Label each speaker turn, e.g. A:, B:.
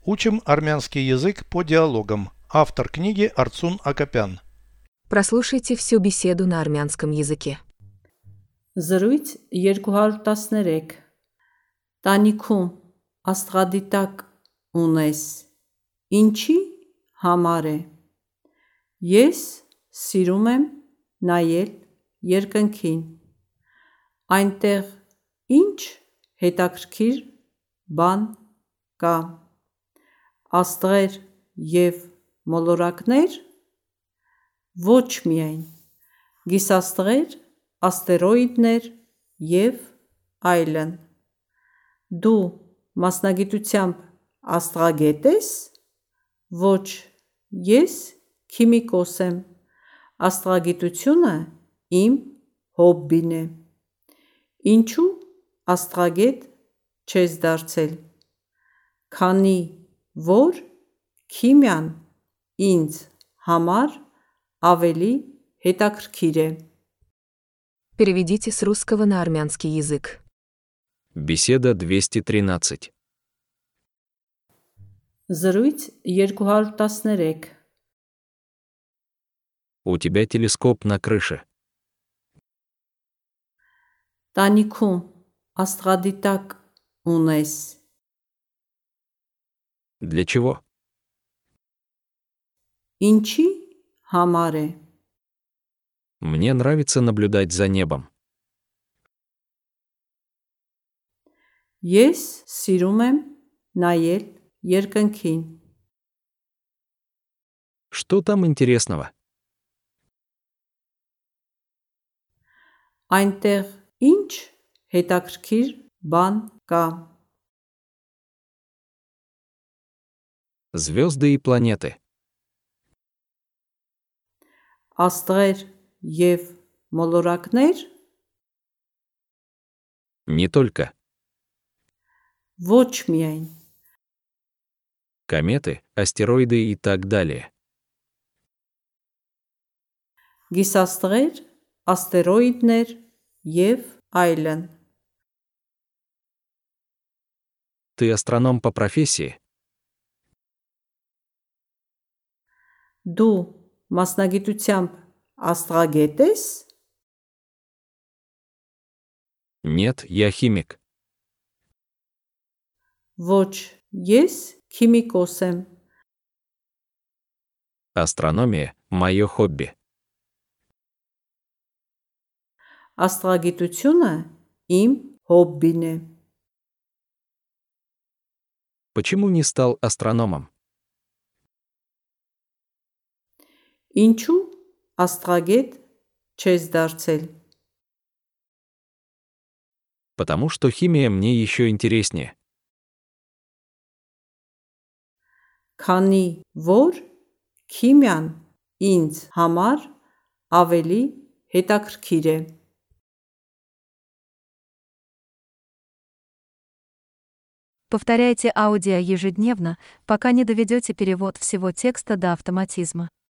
A: Учим армянский язык по диалогам. Автор книги Арцун Акопян.
B: Прослушайте всю беседу на армянском языке.
C: Զրույց 213 Տանիքում աստղադիտակ ունես, ինչի համար է։ Ես սիրում եմ նայել երկնքին։ Այնտեղ ինչ հետաքրքիր բան կա։ Աստղեր և մոլորակներ։ Ոչ միայն, գիսաստղեր, աստերոիդներ և այլն։ Դու մասնագիտությամբ աստղագետ ես։ Ոչ, ես քիմիկոս եմ։ Աստղագիտությունը իմ հոբբին է։ Ինչու աստղագետ չես դարձել։ Քանի որ քիմիան ինձ համար ավելի հետաքրքիր է։
B: Переведите с русского на армянский язык.
D: Беседа 213.
C: Զրույց 213
D: У тебя телескоп на крыше.
C: Տանիքում աստղադիտակ ունես,
D: Для чего?
C: ինչի համար է։
D: Мне нравится наблюдать за небом.
C: Ես սիրում եմ նայել երկնքին։
D: Что там интересного?
C: Այնտեղ ինչ հետաքրքիր բան կա։
D: Звезды и планеты.
C: Աստղեր և մոլորակներ։
D: Не только.
C: Ոչ միայն,
D: Кометы, астероиды и так далее.
C: գիսաստղեր, աստերոիդներ և այլն։
D: Ты астроном по профессии?
C: Դու մասնագիտությամբ աստղագետ ես։
D: Нет, я химик.
C: Ոչ, ես քիմիկոս եմ։
D: Астрономия – мое хобби.
C: Աստղագիտությունը իմ հոբբին է։
D: Почему не стал астрономом?
C: Ինչու աստղագետ չես դարձել։
D: Потому что химия мне еще интереснее.
C: Քանի որ քիմիան ինձ համար ավելի հետաքրքիր է։
E: Повторяйте аудио ежедневно, пока не доведете перевод всего текста до автоматизма.